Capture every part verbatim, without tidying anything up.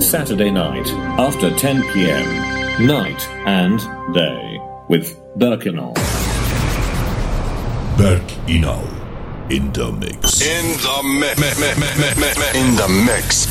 Saturday night after ten p.m. Night and Day with Berk Inal. Berk Inal in the mix. In the mix. In the mix.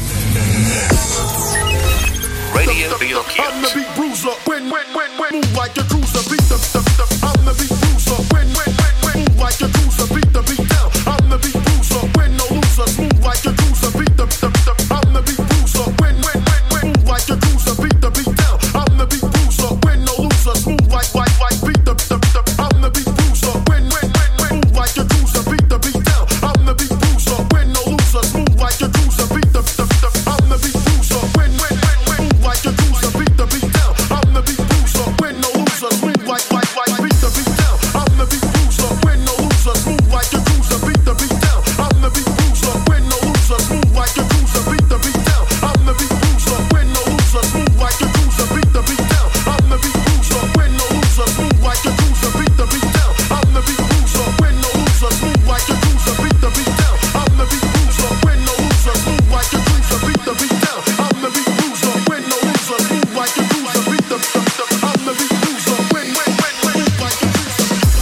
Radio for your kids. I'm the beat bruiser. When, when, when, when. Move like a cruiser. Beat the, the, the. I'm the beat bruiser. When, when, when, when. Move like a cruiser. Beat the beat down. I'm the beat bruiser. When no loser. Smooth like a cruiser. Beat the, the, the. I'm the beat bruiser. When, when, when, when. Move like a cruiser. Beat the beat down. I'm the beat bruiser. When no loser. Smooth like, like, like. Beat the, the, the. I'm the beat bruiser. When, when, when, when. Move like a cruiser. Beat the beat down. I'm the beat bruiser. When no loser. Smooth like a cruiser. Beat the, the, the. I'm the beat bruiser. When, when, when, when. Move like a cruiser. Beat the beat down. I'm the beat bruiser. When no loser. Smooth like, like, like. Beat the beat down. I'm the beat bruiser. When no loser. Smooth like a cruiser. Beat the beat down. I'm the beat bruiser. When no loser. Smooth like a cruiser. Beat the beat down. I'm the beat bruiser. When no loser. Smooth like a cruiser. Beat the beat down. I'm the beat bruiser. When no loser. Smooth like a cruiser. Beat the beat down. I'm the beat bruiser. When no loser. Smooth like a cruiser. Beat the beat down. I'm the beat bruiser. When no loser. Smooth like a cruiser. Beat the beat down. I'm the beat bruiser. When no loser. Smooth like a cruiser. Beat the, the, the. I'm the beat bruiser. When, when, when, when. Move like a cruiser.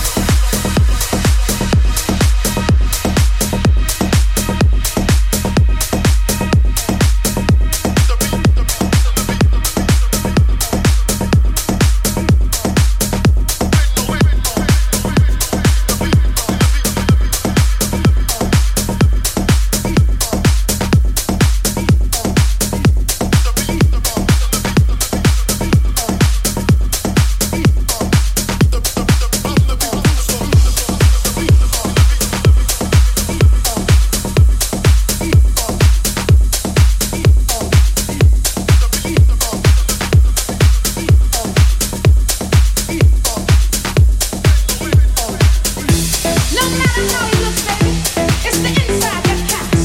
No matter how he looks, baby, it's the inside that counts.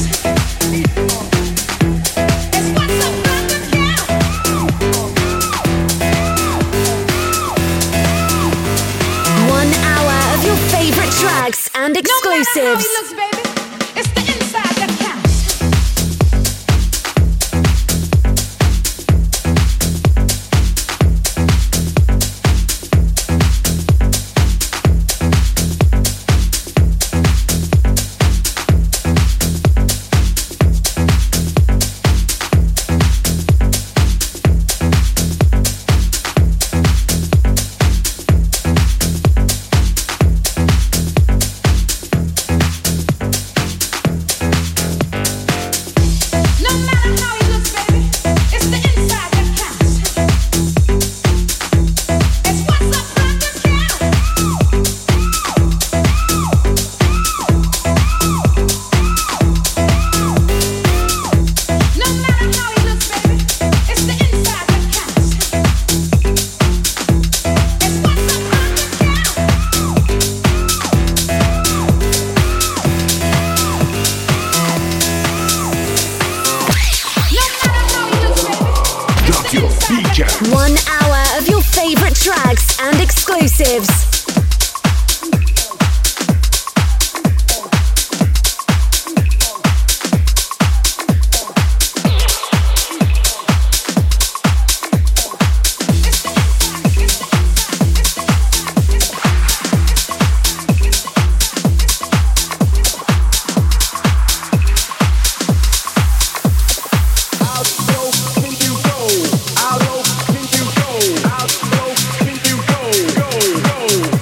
It's what's up underground. One hour of your favorite tracks and No matter how he exclusives. looks, baby, it's the inside that counts. No matter how he looks, baby, it's the inside that counts. It's what's up underground. No matter how he looks, baby, it's the inside that counts. It's what's up underground. No matter how he looks, baby, Drop your beat out. One hour of your favorite tracks and exclusives. How low can you go? How low can you go? How low can you go? Go, go.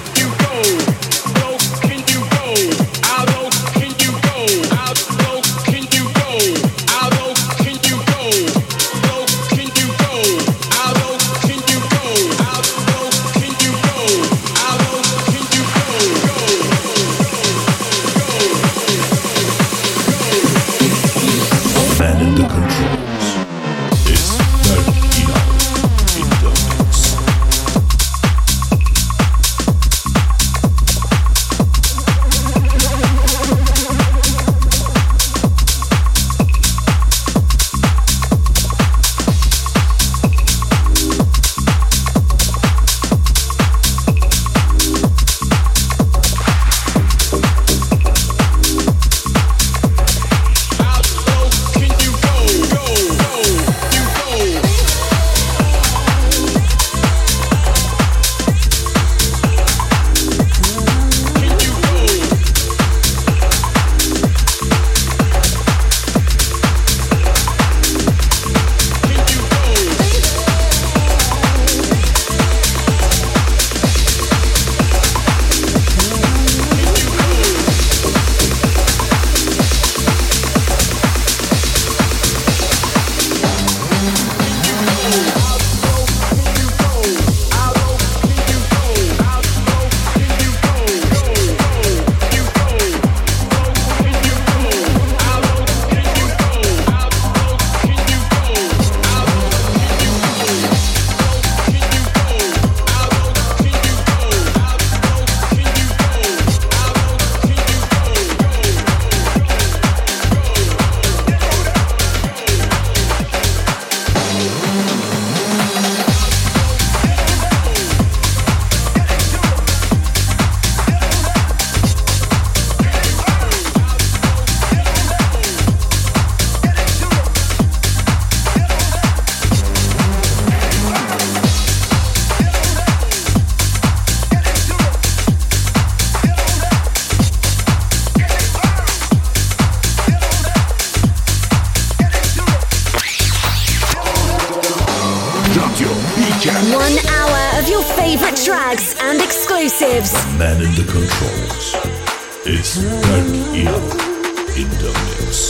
One hour of your favorite tracks and exclusives. Man in the controls. It's Berk Eno in the mix.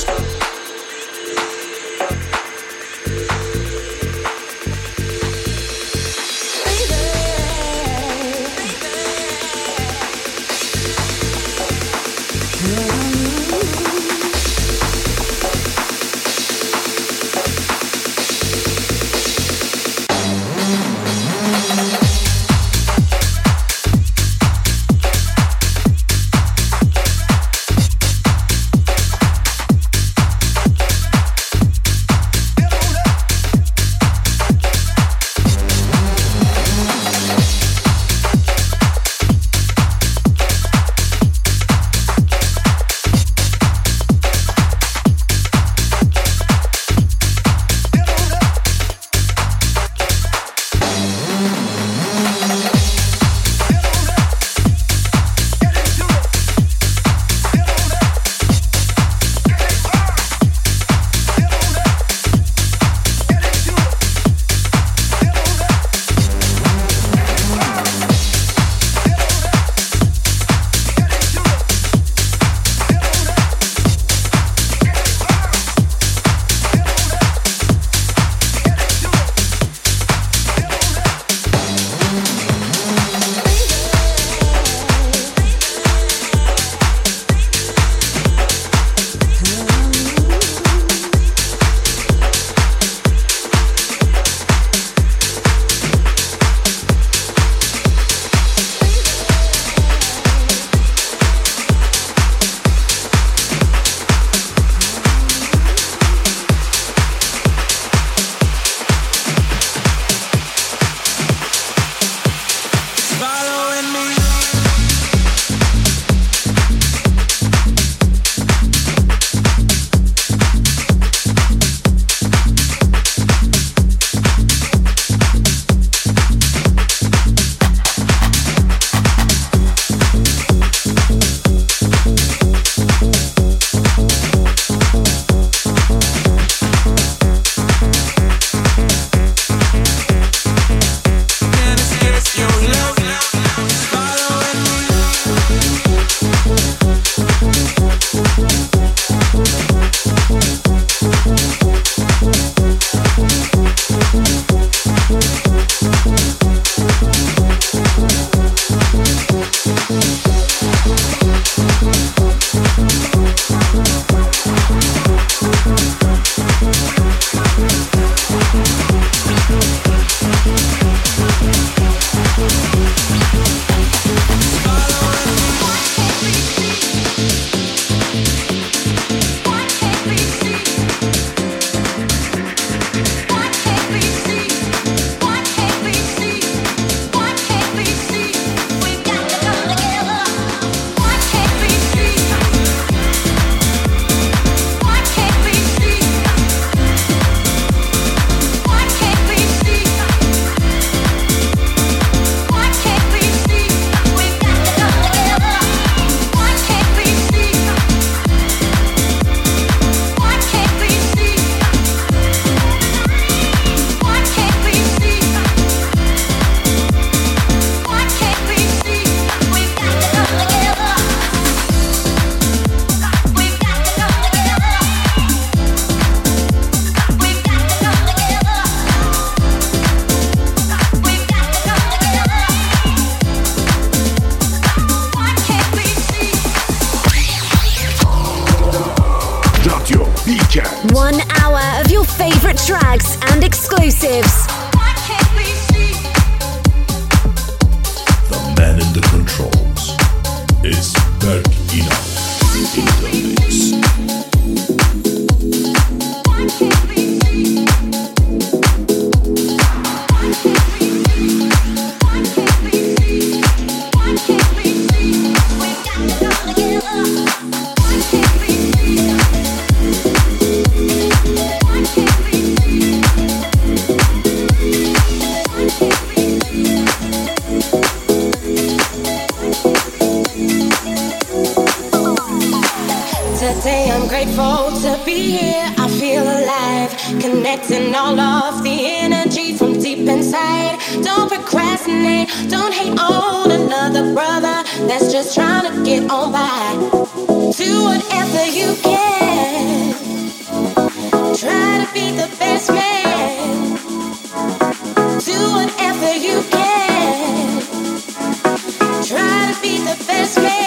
One hour of your favorite tracks and exclusives. The man in the controls is Berk Eno in the mix. Today I'm grateful to be here, I feel alive, connecting all of the energy from deep inside. procrastinate. Don't hate on another brother that's just trying to get on by. Do whatever you can. Try to be the best man. Do whatever you can. Try to be the best man.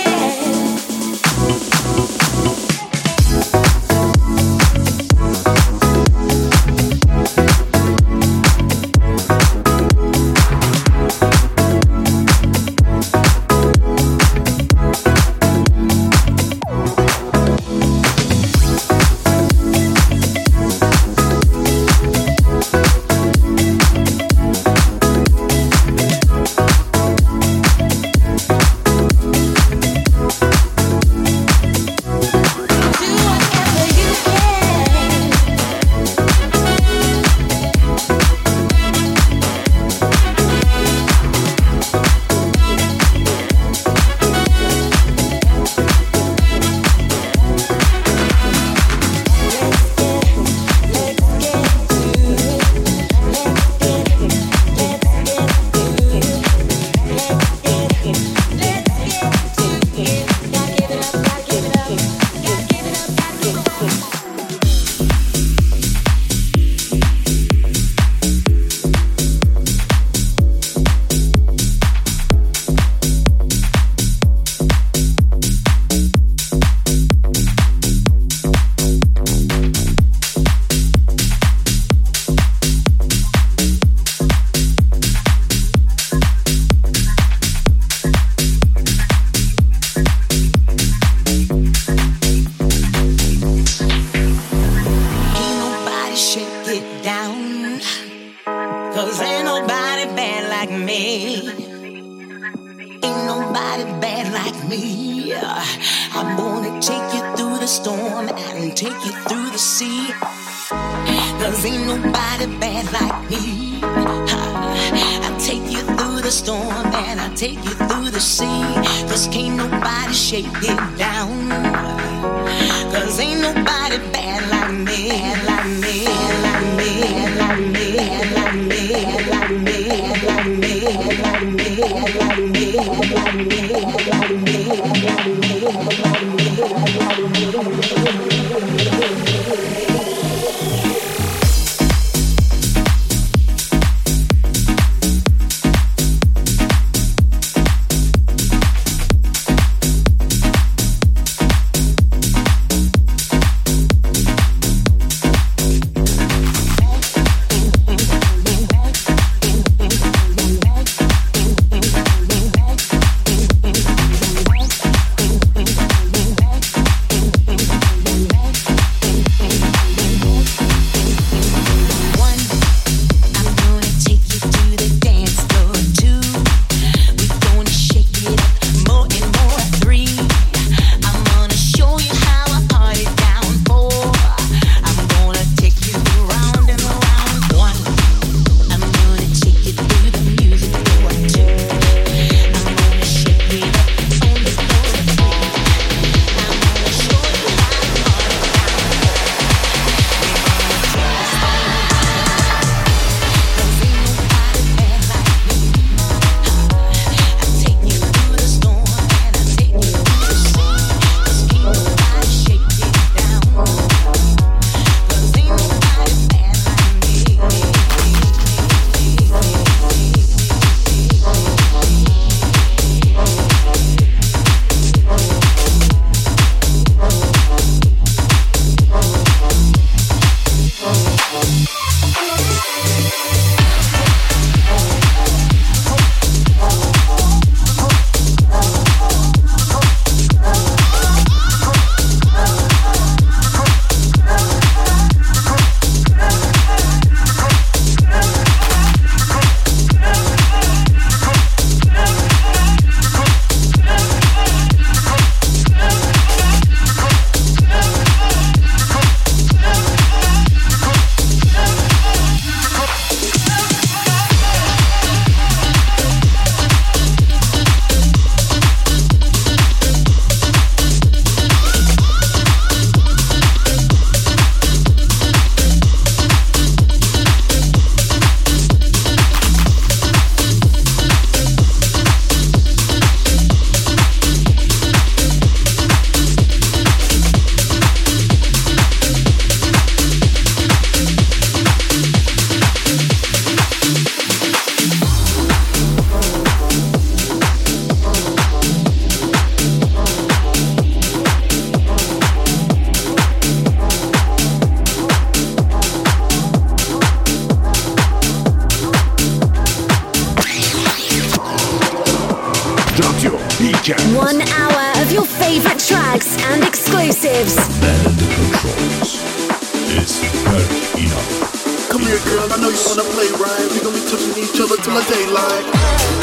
weekend. One hour of your favorite tracks and exclusives. Man in the controls is Berk Enough. Come here, girl, I know you wanna play right. We gon' be touching each other till the daylight.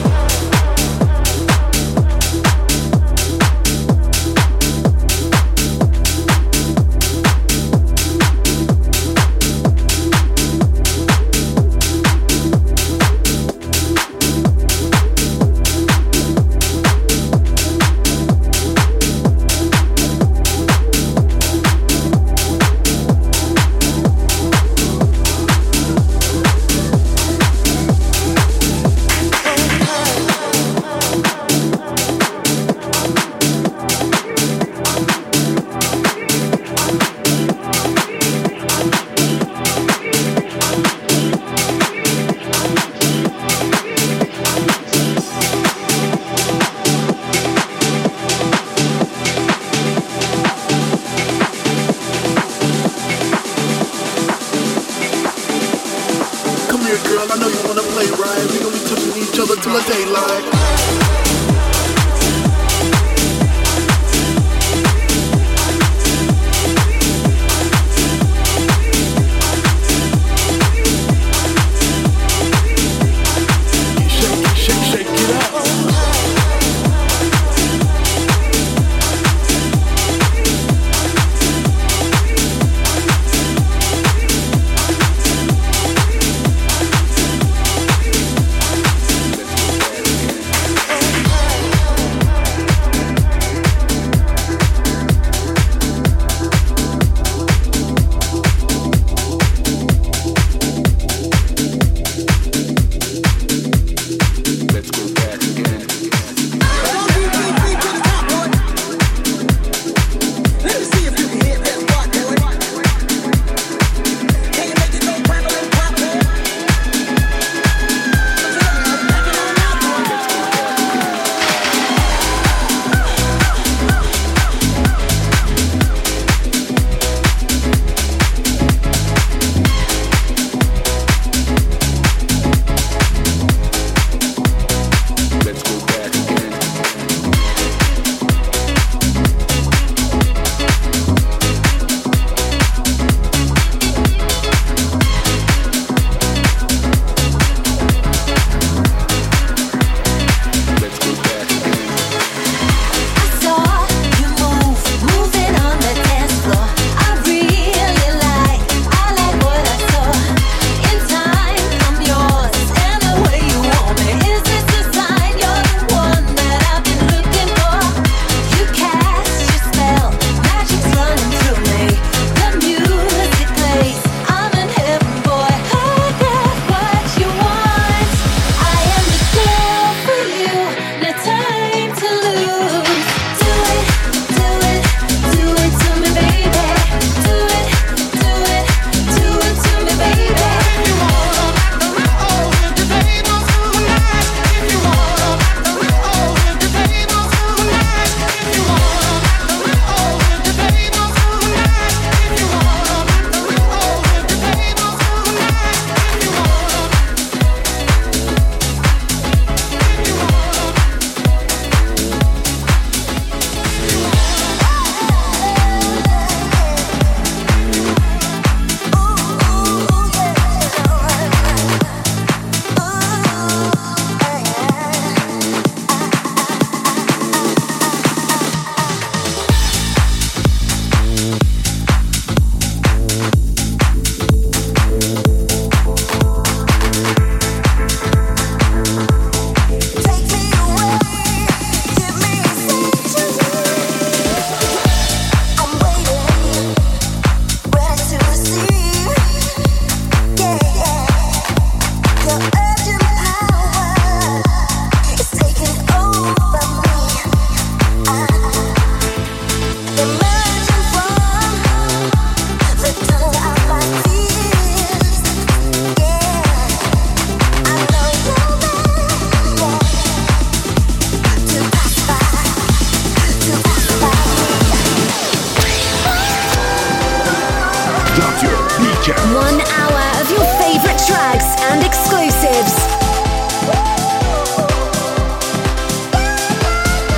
Weekend. One hour of your favorite tracks and exclusives.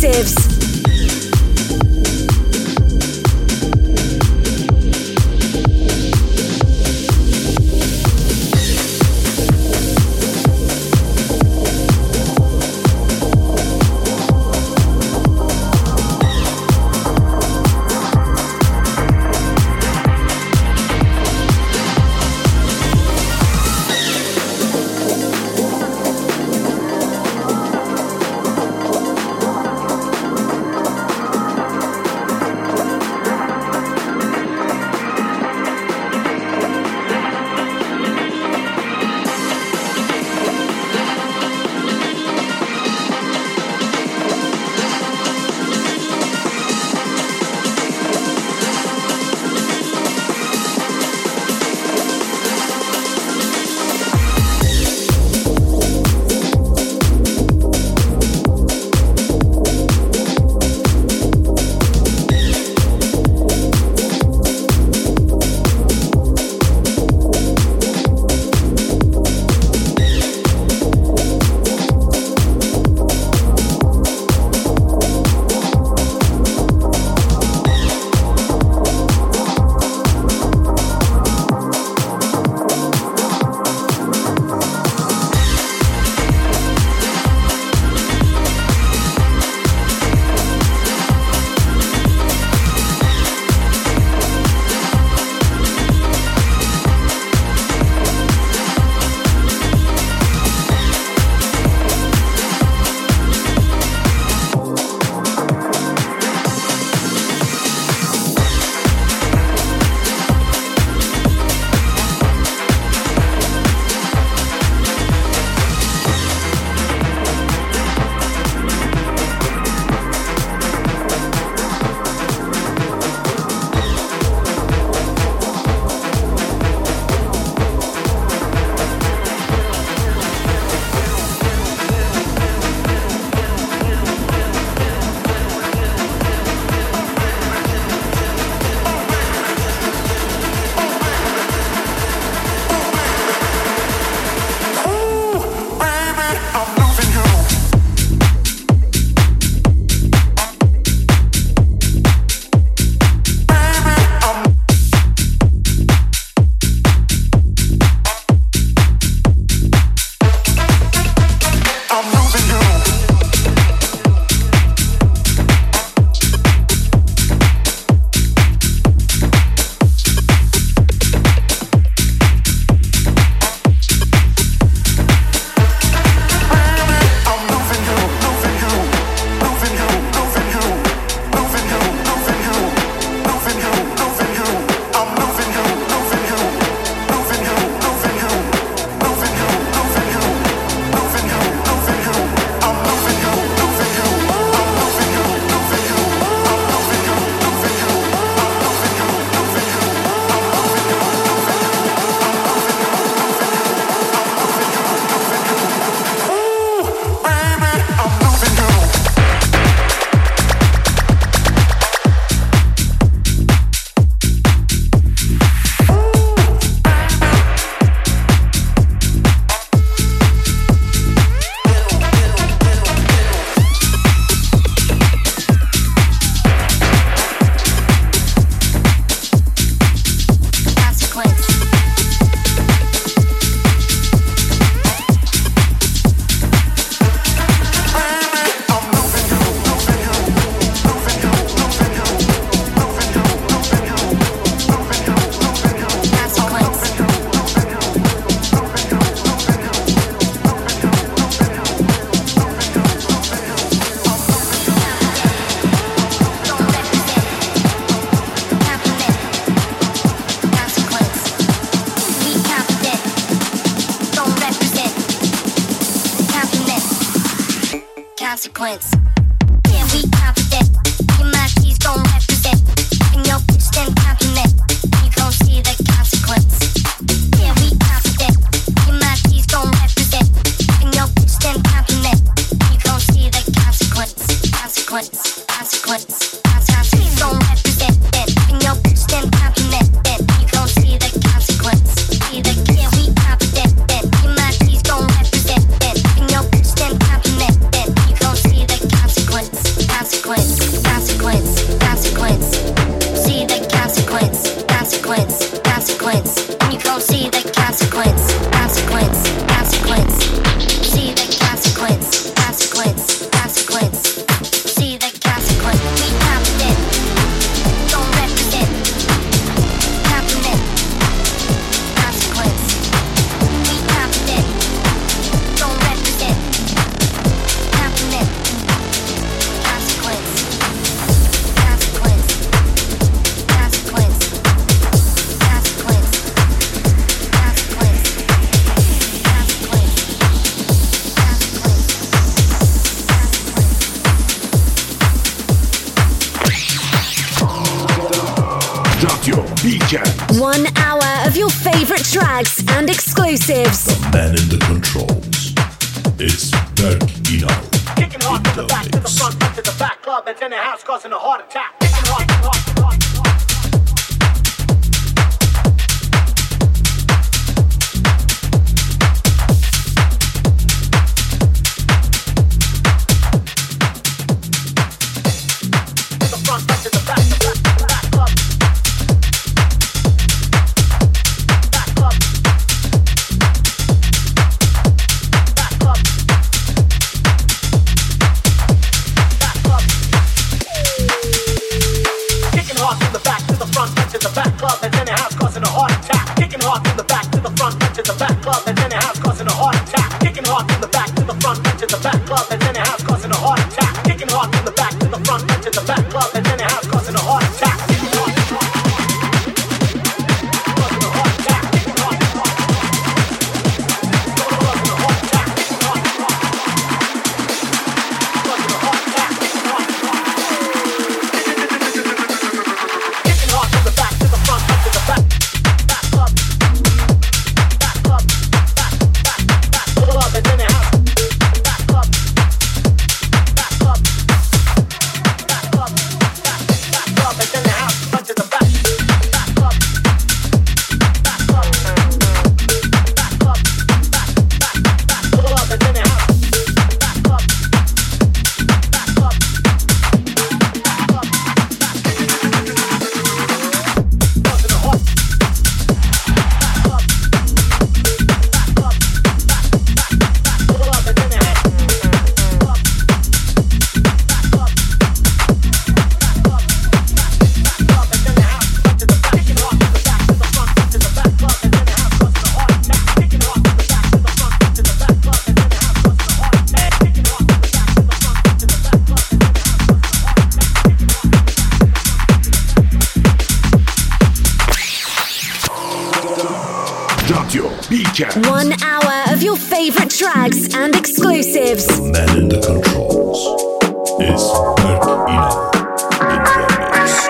exclusives. Consequence. Yeah, we confident. Your mind keys gon' represent. And your bitch then compliment. You gon' see the consequence. Yeah, we confident. Your mind keys gon' represent. And your bitch then compliment. You gon' see the consequence. Consequence. Consequence. Consequence gon' represent. And your bitch then compliment. You gon' see the consequence. See the yeah, we confident. Your mind keys gon' represent. And your bitch then compliment. You gon' see the consequence. One hour of your favorite tracks and exclusives. The man in the controls. It's Berk Inal. Kicking hard from the back to the front, front to the back. Club that's in the house causing a heart attack. Kicking hard, hard, hard. One hour of your favorite tracks and exclusives. The man in the controls. It's Berk Inal. In the mix.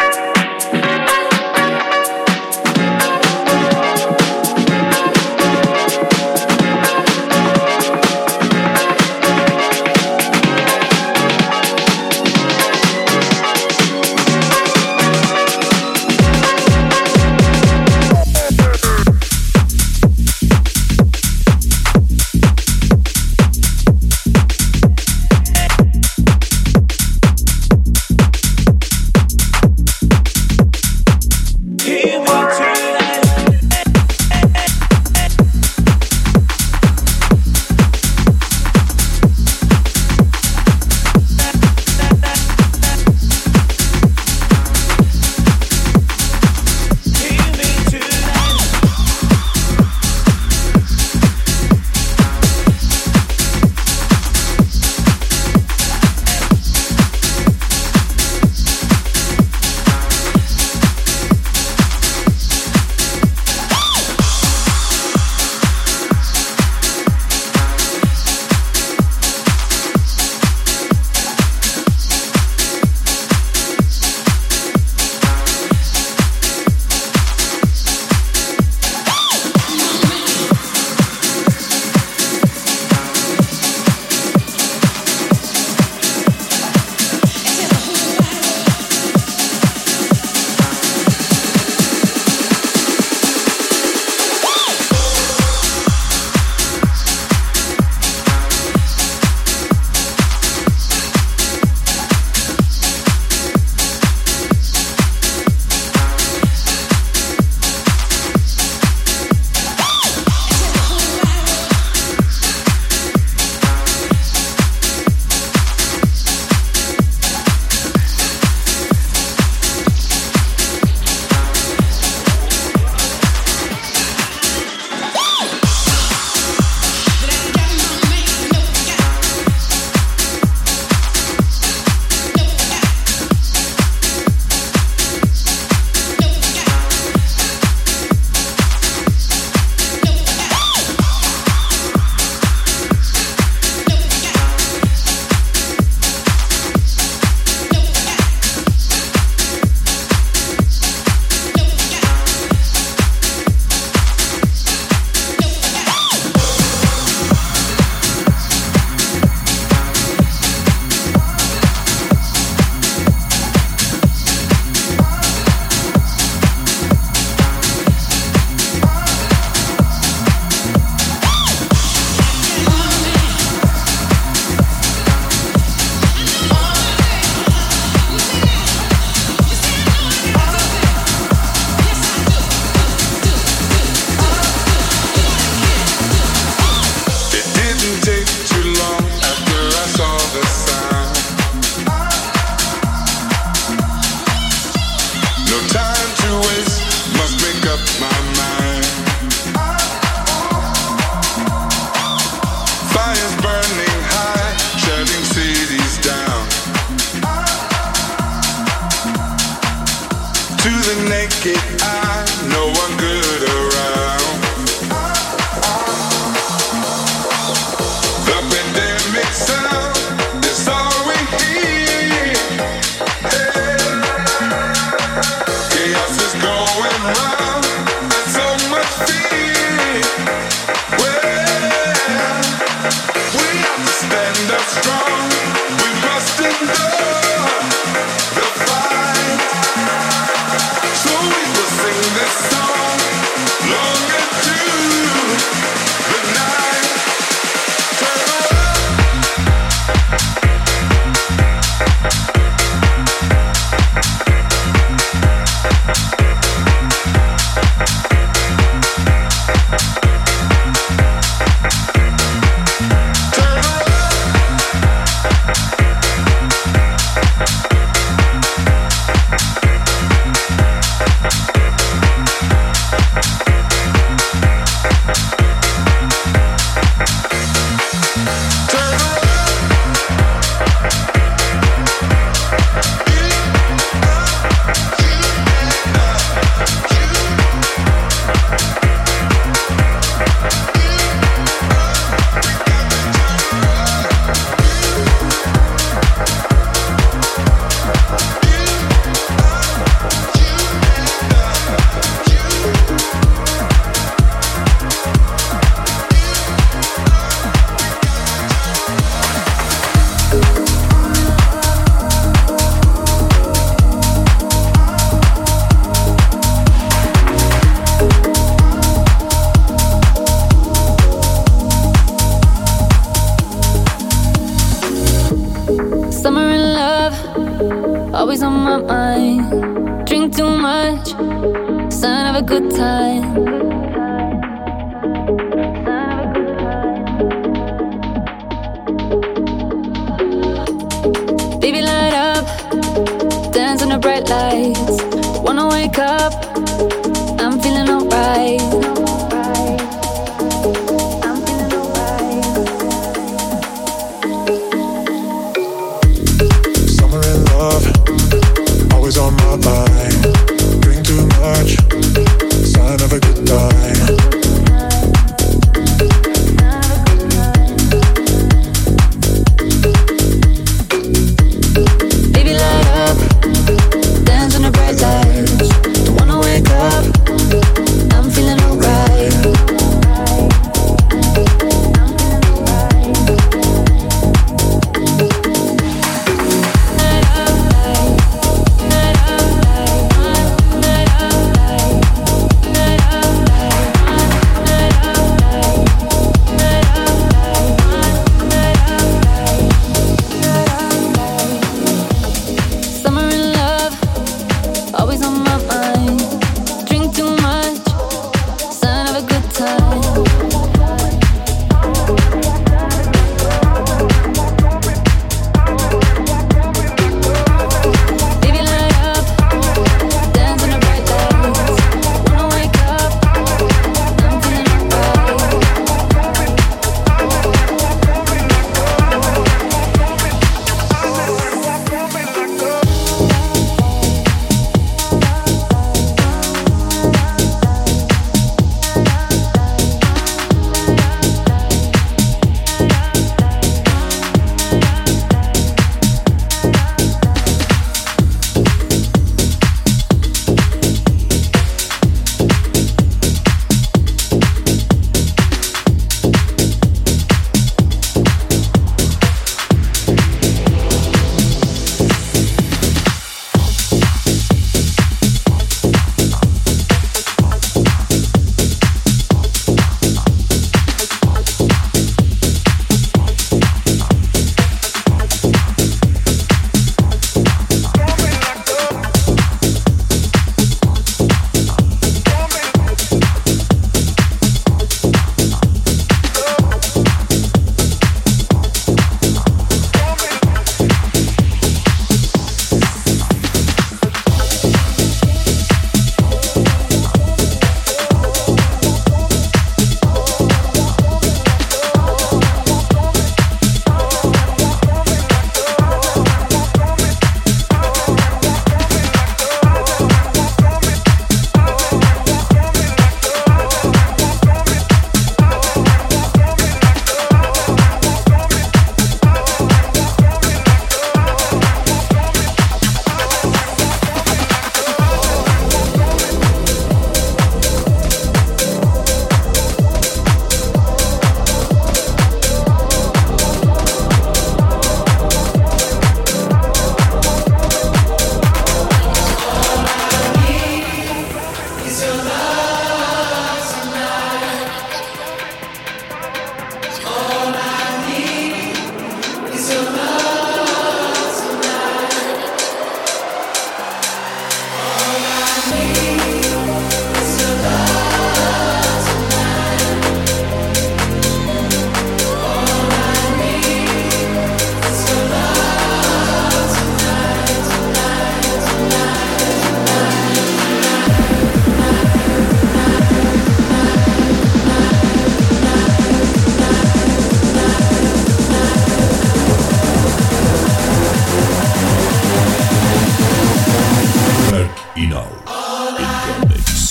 in the mix.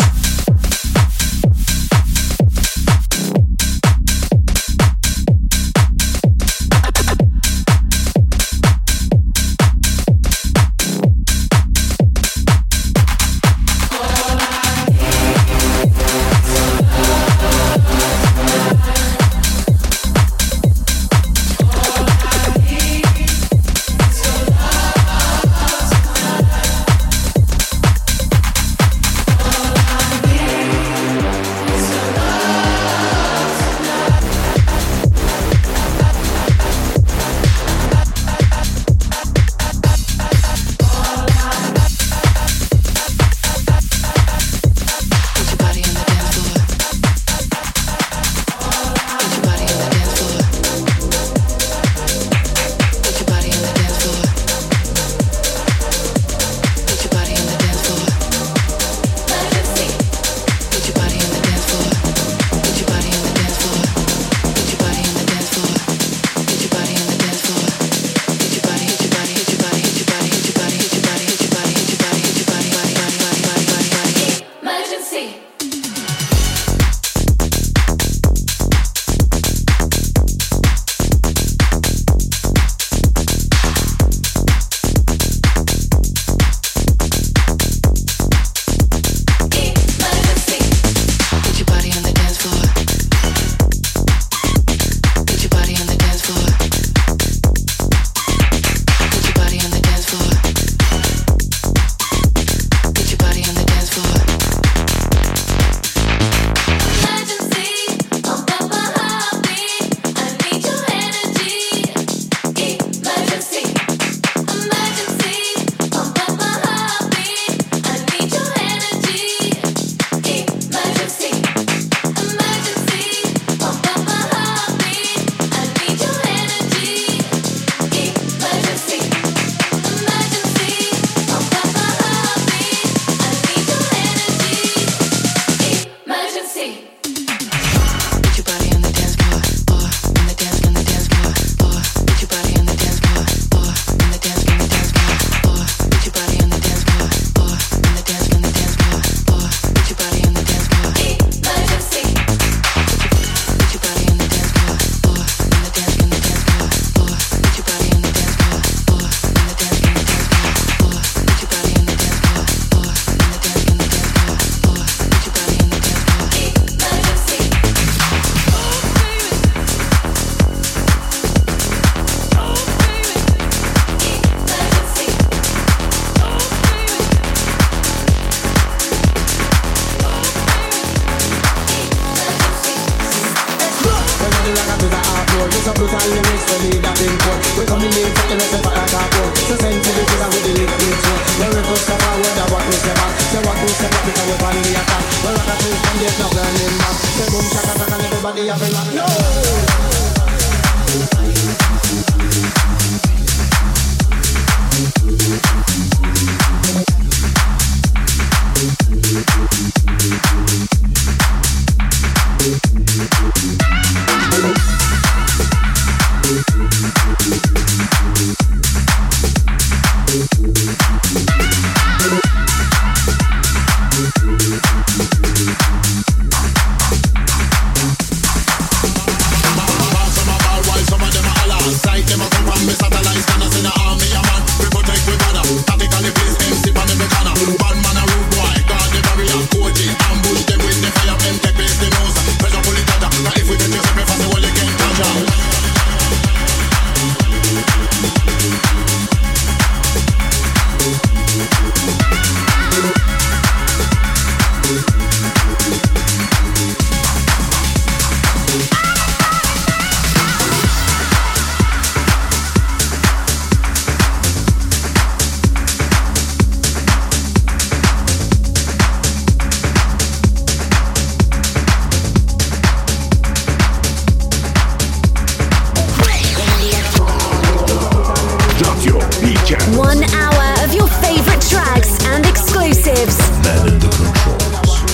One hour of your favorite tracks and exclusives. Man in the controls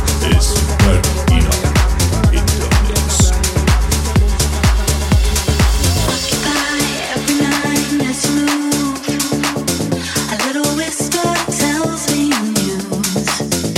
is Berkino in the mix. Occupy every night as you move. A little whisper tells me news.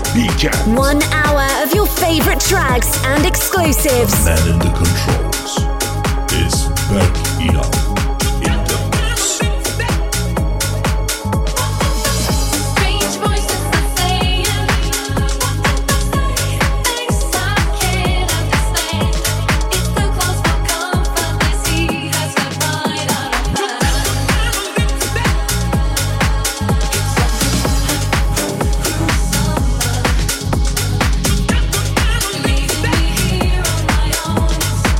Weekend. One hour of your favorite tracks and exclusives. Man in the controls is Berk Inan in the mix. Strange voices are saying things I can't understand. It's too close for comfort. This heat has got right out of hand. Leaving me here on my own.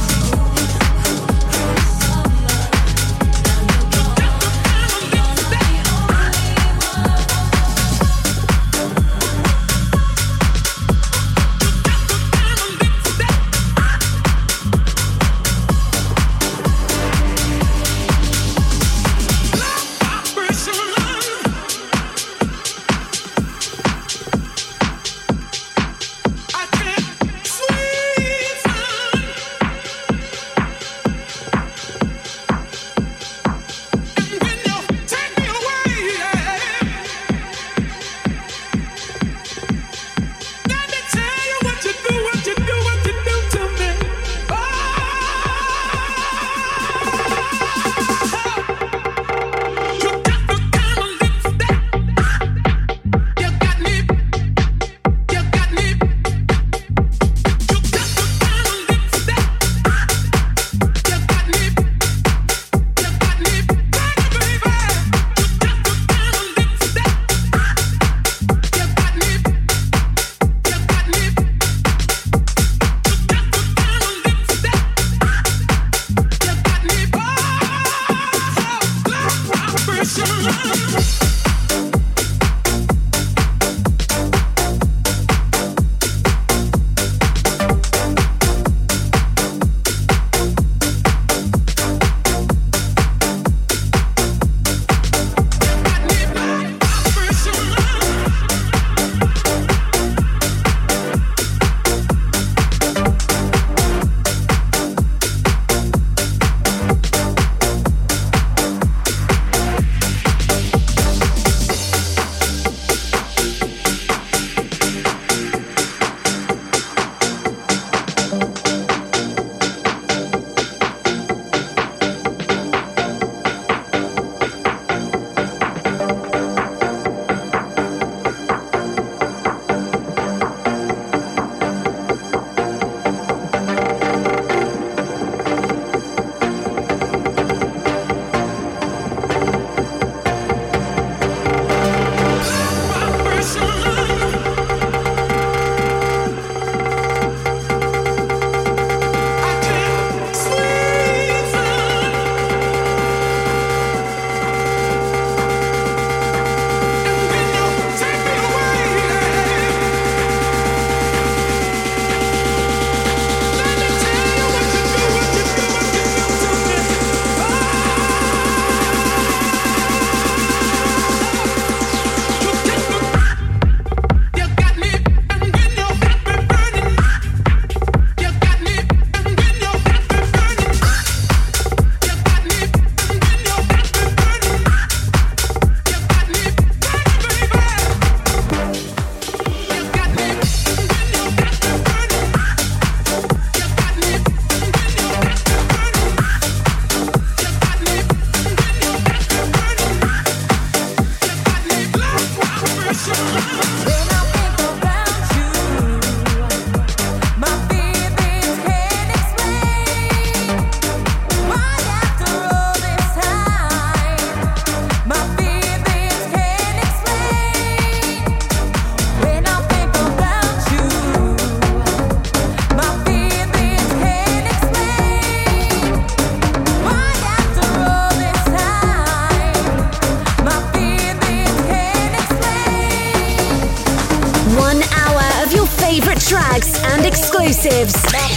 tracks and exclusives.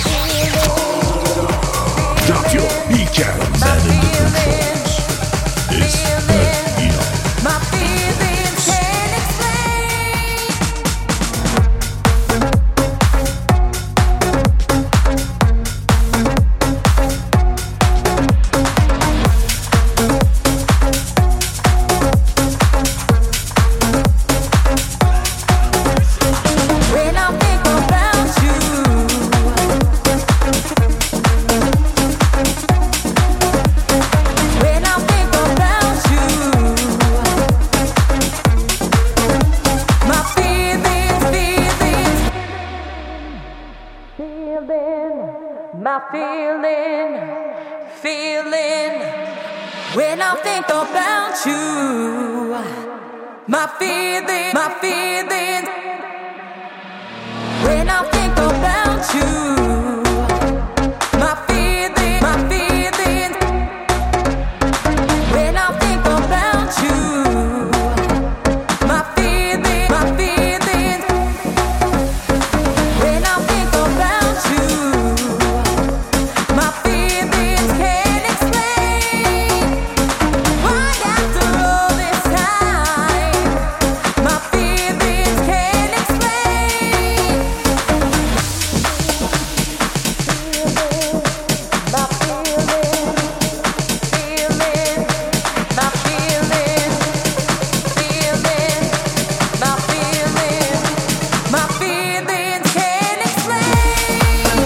Drop your weekend. Man in the controls is Berk Inan. My feelings can't my feeling, feeling. When I think about you, my feeling, my feeling. When I think about you, my feeling, my feeling. When I think about you, my feeling, my feeling. When I think about you, my feelings can't explain why after all this time, my feelings can't explain. My feelings, feeling, my feelings, feeling, my feelings, my feelings can't explain.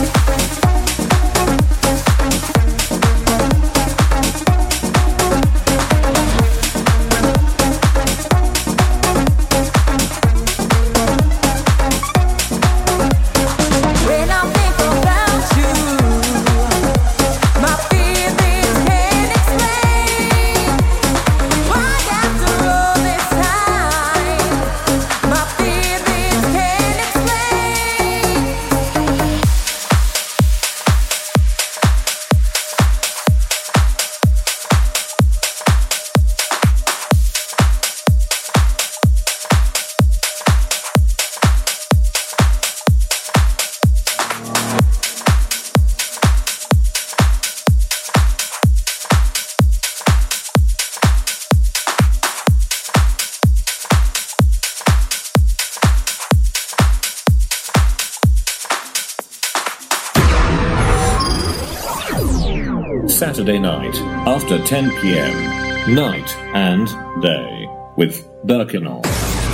When I think about you, my feelings can't explain why after all this time, my feelings can't explain. Saturday night after ten p.m. Night and Day with Berkinol.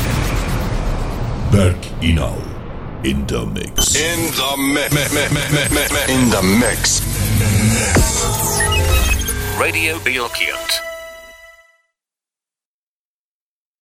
Berk Inal in the mix. In the mix. In the mix. Radio Bilkent.